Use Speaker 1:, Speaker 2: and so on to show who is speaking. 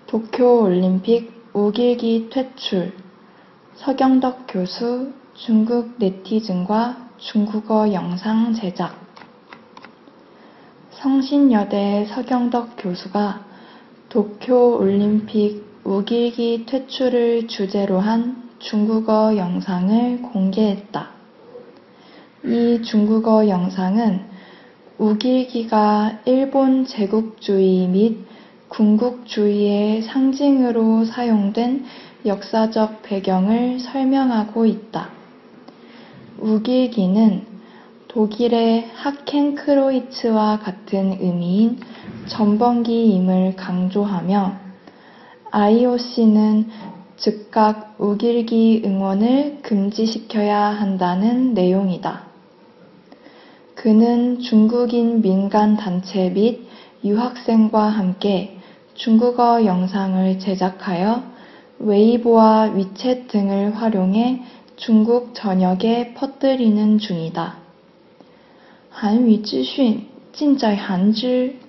Speaker 1: 도쿄올림픽 우길기 퇴출, 서경덕 교수, 중국 네티즌과 중국어 영상 제작. 성신여대 서경덕 교수가 도쿄올림픽 우길기 퇴출을 주제로 한 중국어 영상을 공개했다. 이 중국어 영상은 우길기가 일본 제국주의 및 군국주의의 상징으로 사용된 역사적 배경을 설명하고 있다. 우길기는 독일의 하켄크로이츠와 같은 의미인 전범기임을 강조하며 IOC는 즉각 우길기 응원을 금지시켜야 한다는 내용이다. 그는 중국인 민간단체 및 유학생과 함께 중국어 영상을 제작하여 웨이보와 위챗 등을 활용해 중국 전역에 퍼뜨리는 중이다. 韩语资讯尽在韩知